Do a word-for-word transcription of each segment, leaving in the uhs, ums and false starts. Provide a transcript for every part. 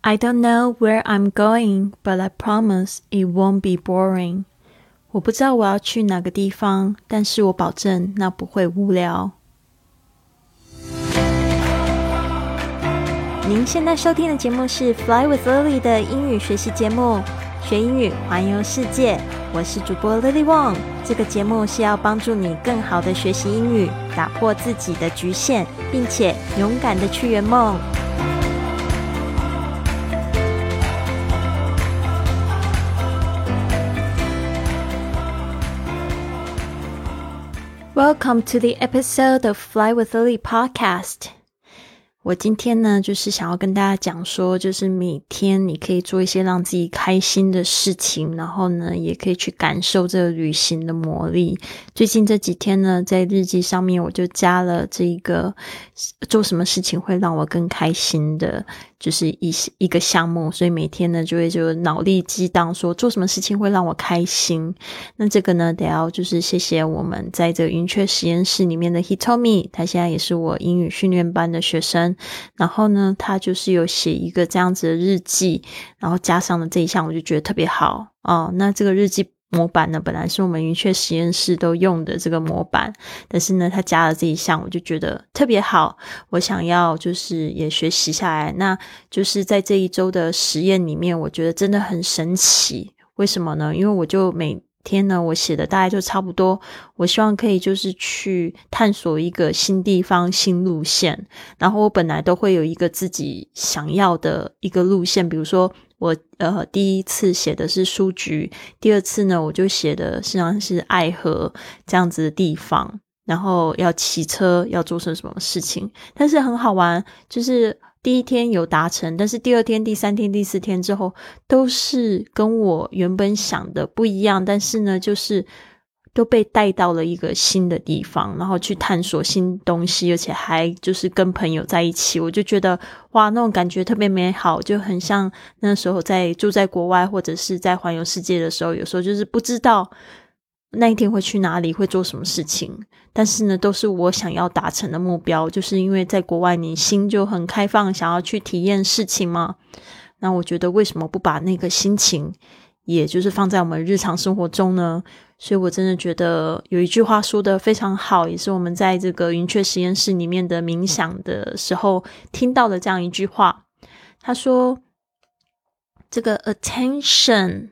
I don't know where I'm going, but I promise it won't be boring. 我不知道我要去哪个地方，但是我保证那不会无聊。您现在收听的节目是 Fly with Lily 的英语学习节目，学英语环游世界。我是主播 Lily Wong， 这个节目是要帮助你更好的学习英语，打破自己的局限，并且勇敢的去圆梦。Welcome to the episode of Fly with Lily podcast. 我今天呢，就是想要跟大家讲说，就是每天你可以做一些让自己开心的事情，然后呢，也可以去感受这个旅行的魔力。最近这几天呢，在日记上面我就加了这个做什么事情会让我更开心的，就是一一个项目，所以每天呢就会就脑力激荡说做什么事情会让我开心。那这个呢，得要就是谢谢我们在这个云雀实验室里面的 Hitomi， 他现在也是我英语训练班的学生。然后呢，他就是有写一个这样子的日记，然后加上了这一项，我就觉得特别好哦。那这个日记模板呢，本来是我们云雀实验室都用的这个模板，但是呢，他加了这一项，我就觉得特别好。我想要就是也学习下来，那就是在这一周的实验里面，我觉得真的很神奇。为什么呢？因为我就每天呢，我写的大概就差不多，我希望可以就是去探索一个新地方、新路线，然后我本来都会有一个自己想要的一个路线，比如说我呃第一次写的是书局，第二次呢我就写的实际上是爱河这样子的地方，然后要骑车要做成什么事情，但是很好玩，就是第一天有达成，但是第二天、第三天、第四天之后都是跟我原本想的不一样，但是呢就是都被带到了一个新的地方，然后去探索新东西，而且还就是跟朋友在一起，我就觉得哇，那种感觉特别美好，就很像那时候在住在国外或者是在环游世界的时候，有时候就是不知道那一天会去哪里，会做什么事情，但是呢都是我想要达成的目标，就是因为在国外你心就很开放，想要去体验事情嘛。那我觉得为什么不把那个心情也就是放在我们日常生活中呢？所以我真的觉得有一句话说得非常好，也是我们在这个云雀实验室里面的冥想的时候听到的这样一句话。他说这个 attention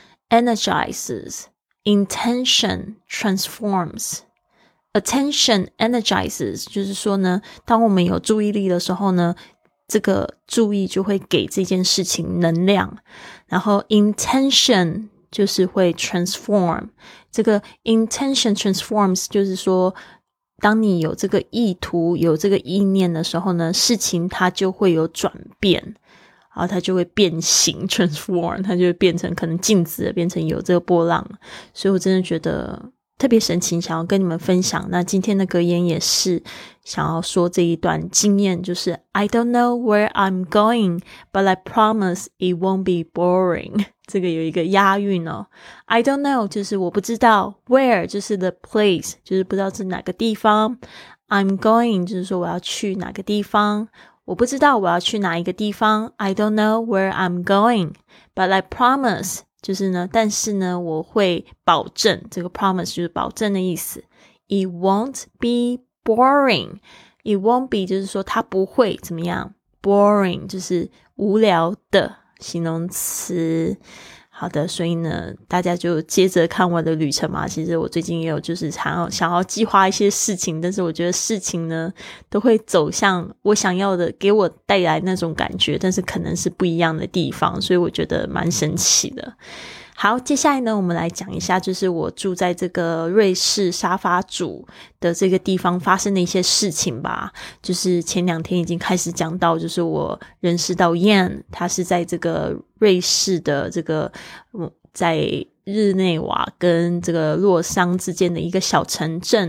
energizes, intention transforms. Attention energizes 就是说呢，当我们有注意力的时候呢，这个注意就会给这件事情能量，然后 intention 就是会 transform， 这个 intention transforms 就是说当你有这个意图有这个意念的时候呢，事情它就会有转变，然后它就会变形 transform， 它就会变成可能静止的变成有这个波浪。所以我真的觉得特别神奇，想要跟你们分享。那今天的格言也是想要说这一段经验，就是 I don't know where I'm going, but I promise it won't be boring. 这个有一个押韵哦。I don't know 就是我不知道， where 就是 the place 就是不知道是哪个地方， I'm going 就是说我要去哪个地方，我不知道我要去哪一个地方， I don't know where I'm going, but I promise就是呢，但是呢我会保证，这个 promise 就是保证的意思。 It won't be boring. It won't be 就是说它不会怎么样， boring 就是无聊的形容词。好的，所以呢大家就接着看我的旅程嘛。其实我最近也有就是想要想要计划一些事情，但是我觉得事情呢都会走向我想要的，给我带来那种感觉，但是可能是不一样的地方，所以我觉得蛮神奇的。好，接下来呢我们来讲一下就是我住在这个瑞士沙发主的这个地方发生的一些事情吧。就是前两天已经开始讲到，就是我认识到 Yan， 他是在这个瑞士的这个在日内瓦跟这个洛桑之间的一个小城镇，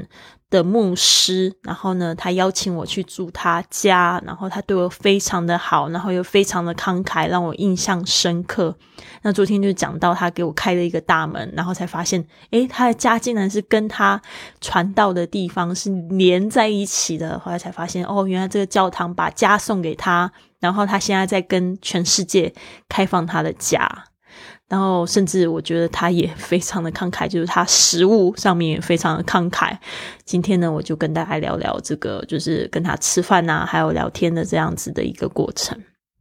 的牧师，然后呢他邀请我去住他家，然后他对我非常的好，然后又非常的慷慨，让我印象深刻。那昨天就讲到他给我开了一个大门，然后才发现诶他的家竟然是跟他传道的地方是连在一起的，后来才发现哦，原来这个教堂把家送给他，然后他现在在跟全世界开放他的家。然后甚至我觉得他也非常的慷慨，就是他食物上面也非常的慷慨。今天呢我就跟大家聊聊这个就是跟他吃饭啊还有聊天的这样子的一个过程。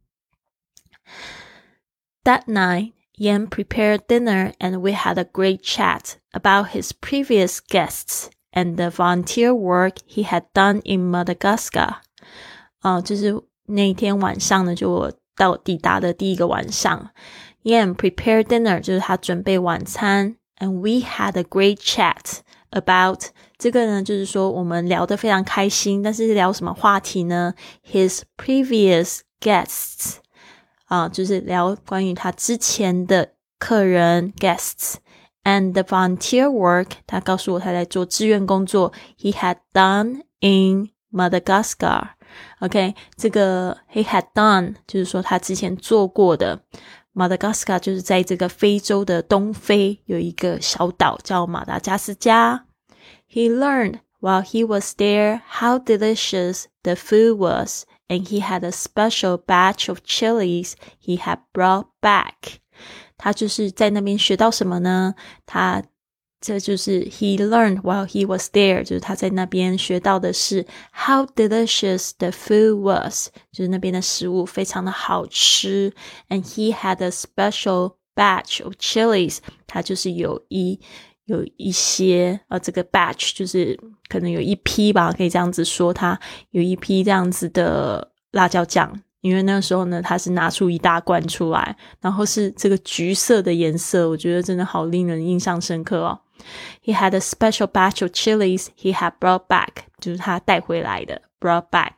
That night, Ian prepared dinner and we had a great chat about his previous guests and the volunteer work he had done in Madagascar. 呃、就是那天晚上呢，就我到抵达的第一个晚上Ian prepared dinner 就是他准备晚餐 and we had a great chat about 这个呢就是说我们聊得非常开心，但是聊什么话题呢？ His previous guests 啊、就是聊关于他之前的客人 guests and the volunteer work 他告诉我他在做志愿工作 he had done in Madagascar. OK 这个 he had done 就是说他之前做过的Madagascar 就是在这个非洲的东非有一个小岛叫马达加斯加。He learned while he was there how delicious the food was, and he had a special batch of chilies he had brought back. 他就是在那边学到什么呢？他这就是 he learned while he was there 就是他在那边学到的是 how delicious the food was 就是那边的食物非常的好吃 and he had a special batch of chilies 他就是有一有一些呃，这个 batch 就是可能有一批吧，可以这样子说他有一批这样子的辣椒酱，因为那个时候呢他是拿出一大罐出来，然后是这个橘色的颜色，我觉得真的好令人印象深刻哦。He had a special batch of chilies he had brought back 就是他带回来的 brought back。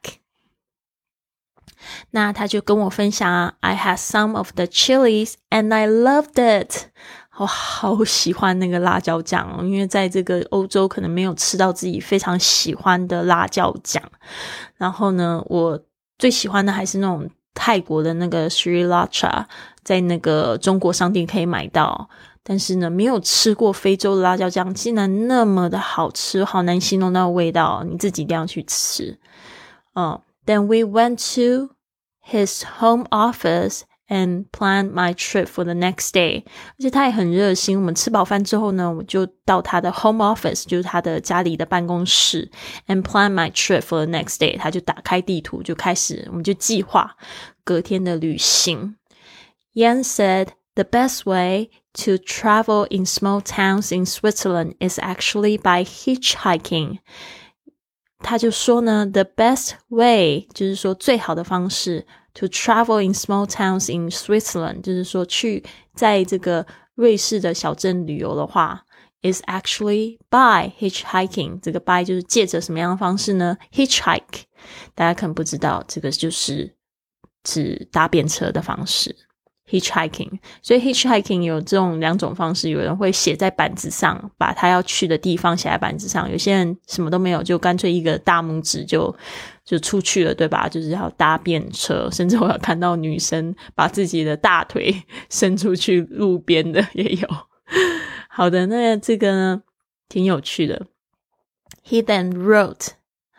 那他就跟我分享 I had some of the chilies and I loved it。 我好喜欢那个辣椒酱哦，因为在这个欧洲可能没有吃到自己非常喜欢的辣椒酱。然后呢我最喜欢的还是那种泰国的那个 Sriracha， 在那个中国商店可以买到，但是呢没有吃过非洲的辣椒酱竟然那么的好吃，好难形容那个味道，你自己一定要去吃。嗯 Then we went to his home office and planned my trip for the next day. 而且他也很热心，我们吃饱饭之后呢我就到他的 home office 就是他的家里的办公室 and planned my trip for the next day. 他就打开地图就开始我们就计划隔天的旅行。 Ian said the best way to travel in small towns in Switzerland is actually by hitchhiking. 他就说呢 the best way 就是说最好的方式 to travel in small towns in Switzerland 就是说去在这个瑞士的小镇旅游的话 is actually by hitchhiking. 这个 by 就是借着什么样的方式呢？ hitchhike 大家可能不知道，这个就是指搭便车的方式hitchhiking. 所以 hitchhiking 有这种两种方式，有人会写在板子上，把他要去的地方写在板子上，有些人什么都没有，就干脆一个大拇指就就出去了，对吧？就是要搭便车，甚至我有看到女生把自己的大腿伸出去路边的也有。好的，那这个呢挺有趣的。 He then wrote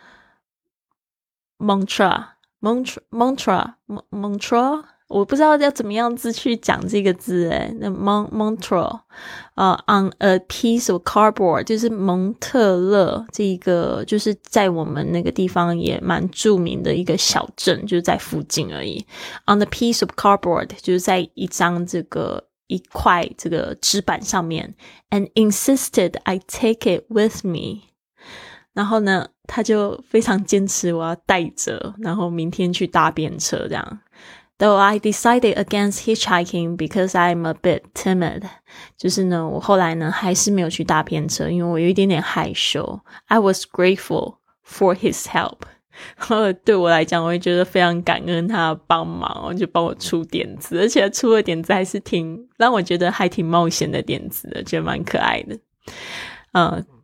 mantra mantra mantra mantra我不知道要怎么样子去讲这个字诶，那 mantra 呃、uh, on a piece of cardboard 就是蒙特勒这一个就是在我们那个地方也蛮著名的一个小镇，就是在附近而已。 On a piece of cardboard 就是在一张这个一块这个纸板上面 and insisted I take it with me。 然后呢他就非常坚持我要带着，然后明天去搭便车这样。Though I decided against hitchhiking because I'm a bit timid. 就是呢我后来呢还是没有去搭便车，因为我有一点点害羞。 I was grateful for his help. 对我来讲我会觉得非常感恩他的帮忙，就帮我出点子，而且出的点子还是挺让我觉得还挺冒险的点子的，觉得蛮可爱的。嗯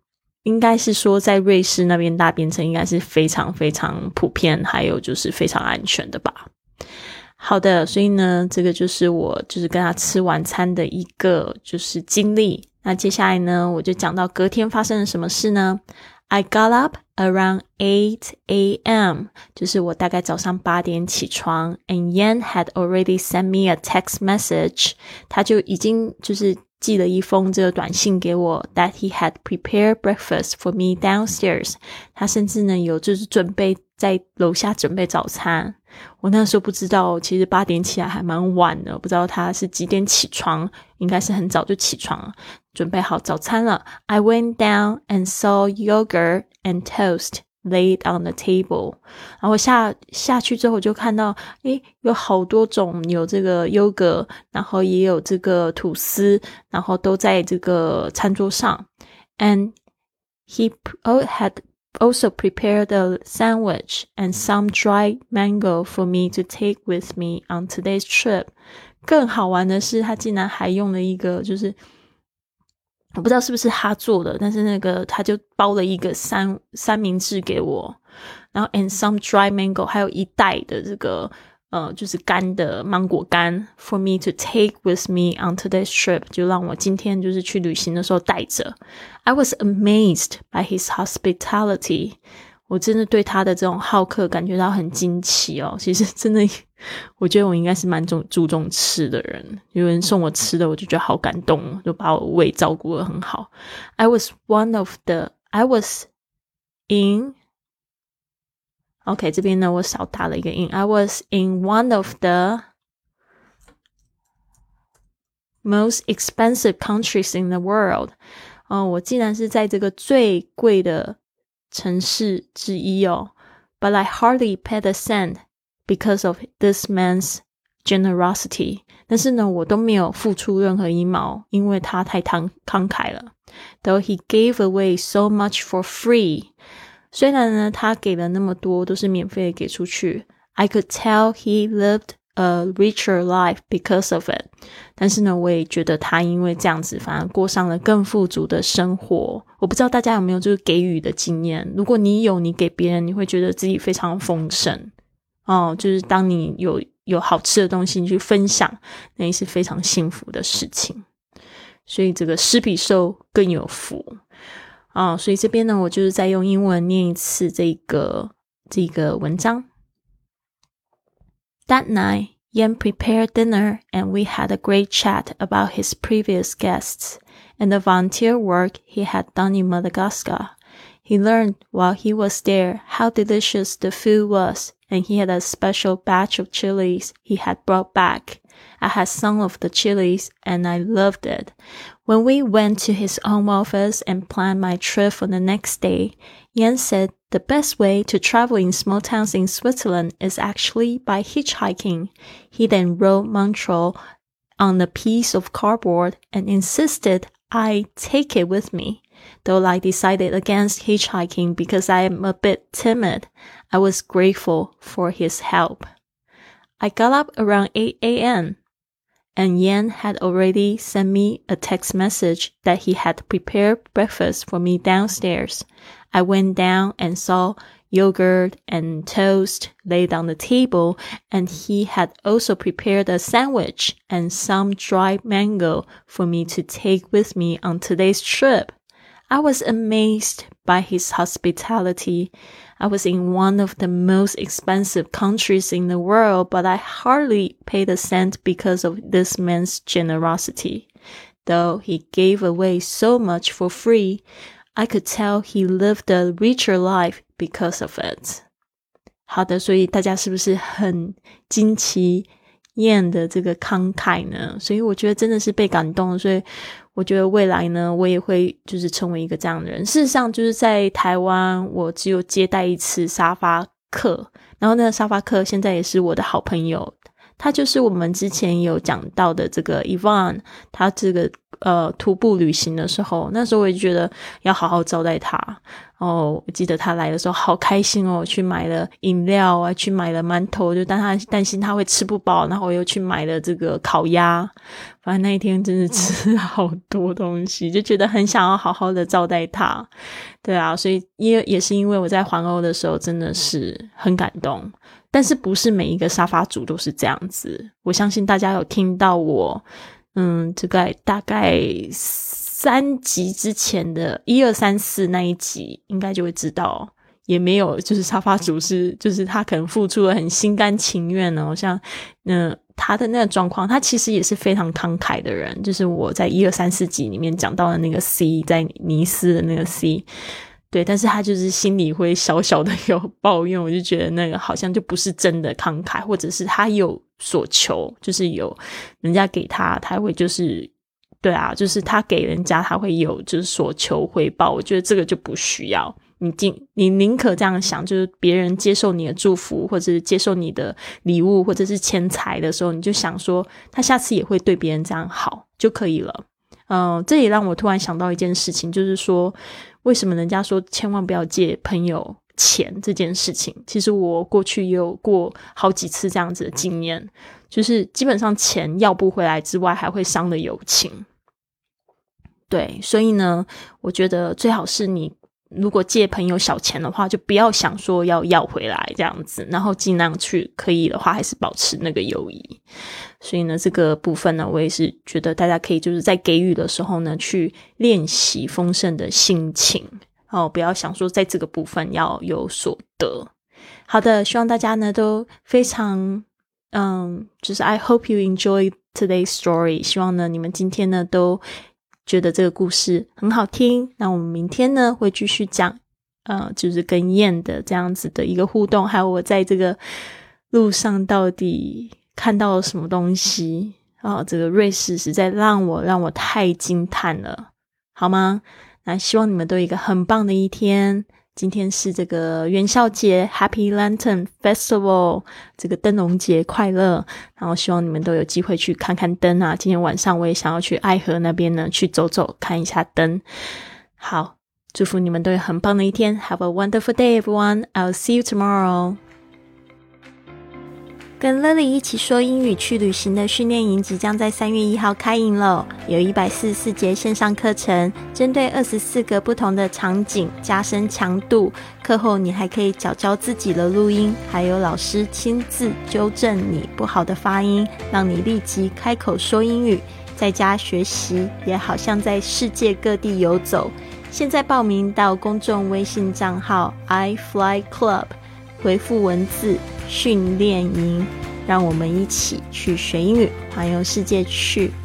应该是说在瑞士那边搭便车应该是非常非常普遍，还有就是非常安全的吧。好的，所以呢这个就是我就是跟他吃晚餐的一个就是经历。那接下来呢我就讲到隔天发生了什么事呢。I got up around eight a.m. 就是我大概早上八点起床 and Yan had already sent me a text message. 他就已经就是寄了一封这个短信给我 that he had prepared breakfast for me downstairs. 他甚至呢有就是准备在楼下准备早餐。我那时候不知道其实八点起来还蛮晚的，不知道他是几点起床，应该是很早就起床了，准备好早餐了。I went down and saw yogurt and toast laid on the table. 然后下下去之后我就看到诶有好多种，有这个 yogurt 然后也有这个吐司，然后都在这个餐桌上。And he had also prepared a sandwich and some dried mango for me to take with me on today's trip. 更好玩的是他竟然还用了一个就是我不知道是不是他做的，但是那个他就包了一个三三明治给我，然后 and some dried mango 还有一袋的这个呃就是干的芒果干 for me to take with me on today's trip, 就让我今天就是去旅行的时候带着。I was amazed by his hospitality. 我真的对他的这种好客感觉到很惊奇哦。其实真的我觉得我应该是蛮注注重吃的人，有人送我吃的我就觉得好感动，就把我胃照顾得很好。 I was one of the I was in OK 这边呢我少打了一个 in I was in one of the most expensive countries in the world. 哦，我竟然是在这个最贵的城市之一哦。But I hardly paid a cent because of this man's generosity. 但是呢我都没有付出任何一毛，因为他太慷慷慨了。Though he gave away so much for free. 虽然呢他给了那么多都是免费的给出去， I could tell he lived a richer life because of it. 但是呢我也觉得他因为这样子反而过上了更富足的生活。我不知道大家有没有就是给予的经验，如果你有，你给别人你会觉得自己非常丰盛哦，就是当你有有好吃的东西你去分享，那也是非常幸福的事情。所以这个施比受更有福哦，所以这边呢我就是再用英文念一次这个这个文章。That night, Yan prepared dinner and we had a great chat about his previous guests and the volunteer work he had done in Madagascar. He learned while he was there how delicious the food was, and he had a special batch of chilies he had brought back. I had some of the chilies and I loved it. When we went to his home office and planned my trip for the next day, Yan said the best way to travel in small towns in Switzerland is actually by hitchhiking. He then wrote Montreal on a piece of cardboard and insisted I take it with me. Though I decided against hitchhiking because I am a bit timid, I was grateful for his help. I got up around eight a.m. and Yan had already sent me a text message that he had prepared breakfast for me downstairs. I went down and saw yogurt and toast laid on the table, and he had also prepared a sandwich and some dried mango for me to take with me on today's trip. I was amazed by his hospitality. I was in one of the most expensive countries in the world, but I hardly paid a cent because of this man's generosity. Though he gave away so much for free, I could tell he lived a richer life because of it. 好的，所以大家是不是很惊奇Yan的这个慷慨呢？所以我觉得真的是被感动，所以我觉得未来呢我也会就是成为一个这样的人。事实上就是在台湾我只有接待一次沙发客，然后那个沙发客现在也是我的好朋友， 他就是我们之前有讲到的这个 Yvonne， 他这个呃徒步旅行的时候，那时候我也觉得要好好招待他。哦，我记得他来的时候好开心哦，去买了饮料啊，去买了馒头，就但他担心他会吃不饱，然后我又去买了这个烤鸭。反正那一天真的吃好多东西，就觉得很想要好好的招待他。对啊，所以也也是因为我在环欧的时候真的是很感动，但是不是每一个沙发主都是这样子。我相信大家有听到我嗯这个大概三集之前的一二三四那一集应该就会知道，也没有就是沙发主是就是他可能付出了很心甘情愿哦，像嗯、呃、他的那个状况，他其实也是非常慷慨的人，就是我在一二三四集里面讲到的那个 C， 在尼斯的那个 C， 对，但是他就是心里会小小的有抱怨，我就觉得那个好像就不是真的慷慨，或者是他有所求，就是有人家给他他会就是对啊，就是他给人家他会有就是所求回报，我觉得这个就不需要，你你宁可这样想，就是别人接受你的祝福或者是接受你的礼物或者是钱财的时候，你就想说他下次也会对别人这样好就可以了。嗯、呃，这也让我突然想到一件事情，就是说为什么人家说千万不要借朋友钱这件事情，其实我过去也有过好几次这样子的经验，就是基本上钱要不回来之外还会伤了友情。对，所以呢我觉得最好是你如果借朋友小钱的话，就不要想说要要回来这样子，然后尽量去可以的话还是保持那个友谊。所以呢这个部分呢，我也是觉得大家可以就是在给予的时候呢去练习丰盛的心情哦，不要想说在这个部分要有所得。好的，希望大家呢都非常嗯，就是 I hope you enjoy today's story， 希望呢你们今天呢都觉得这个故事很好听。那我们明天呢会继续讲呃，就是跟燕的这样子的一个互动，还有我在这个路上到底看到了什么东西啊、呃，这个瑞士实在让我让我太惊叹了，好吗？那希望你们都有一个很棒的一天。今天是这个元宵节 Happy Lantern Festival， 这个灯笼节快乐，然后希望你们都有机会去看看灯啊，今天晚上我也想要去爱河那边呢去走走看一下灯。好，祝福你们都有很棒的一天。 Have a wonderful day everyone, I'll see you tomorrow。跟 Lily 一起说英语去旅行的训练营即将在三月一号开营了，有一百四十四节线上课程，针对二十四个不同的场景加深强度。课后你还可以缴交自己的录音，还有老师亲自纠正你不好的发音，让你立即开口说英语。在家学习也好像在世界各地游走。现在报名到公众微信账号 I Fly Club， 回复文字训练营，让我们一起去学英语，环游世界去。